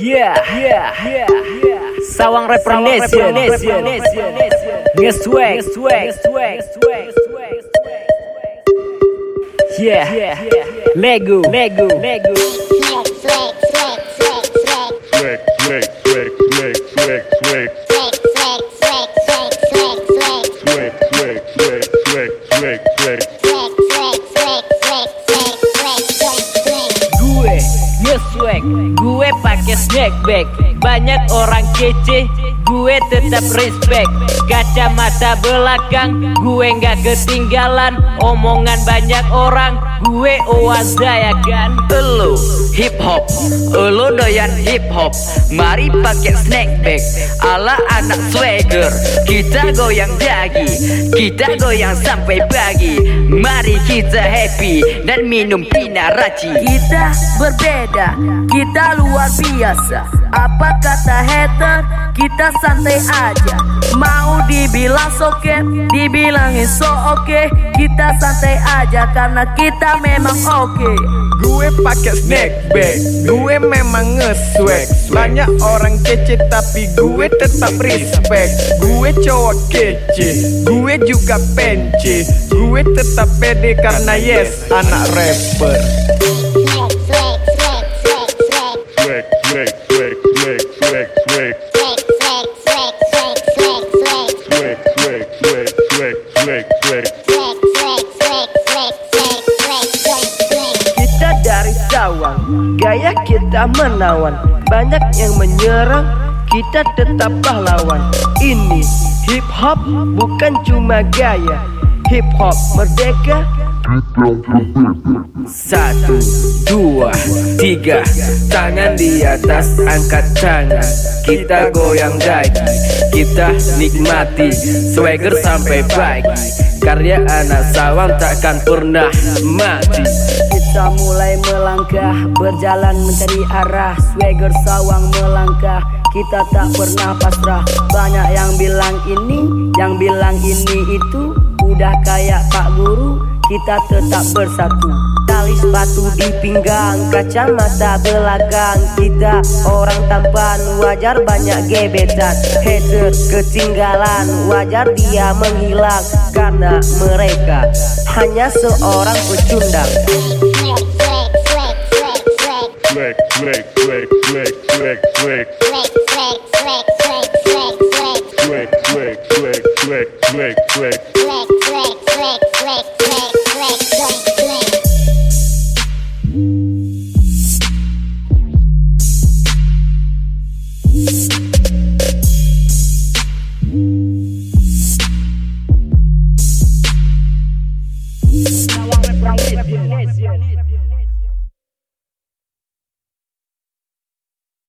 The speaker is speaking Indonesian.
Sawang Representation Nge-swag Lego Gue nge-swag, gue pake snackback. Banyak orang kece, gue tetap respect. Kacamata belakang, gue gak ketinggalan. Omongan banyak orang, gue oaza ya kan. Elo hip hop, elo doyan hip hop. Mari pakai snackback ala anak swagger. Kita goyang dagi, kita goyang sampai pagi. Mari kita happy dan minum pina raci. Kita berbeda, kita luar biasa. Apa kata hater, kita santai aja. Mau dibilang soket, dibilangin so oke. Kita santai aja karena kita memang oke. Gue pakai snackback, gue memang nge-swag. Banyak orang kece tapi gue tetap respect. Gue cowok kece, gue juga pence. Gue tetap pede karena yes, anak rapper. Kita dari Sawang, gaya kita menawan. Banyak yang menyerang, kita tetap pahlawan. Ini hip hop bukan cuma gaya. Hip hop merdeka. 1, 2, 3, tangan di atas, angkat tangan. Kita goyang dagi, kita nikmati swagger sampai pagi. Karya anak Sawang takkan pernah mati. Kita mulai melangkah, berjalan mencari arah. Swagger Sawang melangkah, kita tak pernah pasrah. Banyak yang bilang ini, yang bilang ini itu. Udah kayak Pak Guru, kita tetap bersatu. Tali sepatu di pinggang, kacamata belakang. Kita orang tampan, wajar banyak gebetan. Hater ketinggalan, wajar dia menghilang. Karena mereka hanya seorang pecundang. Swag.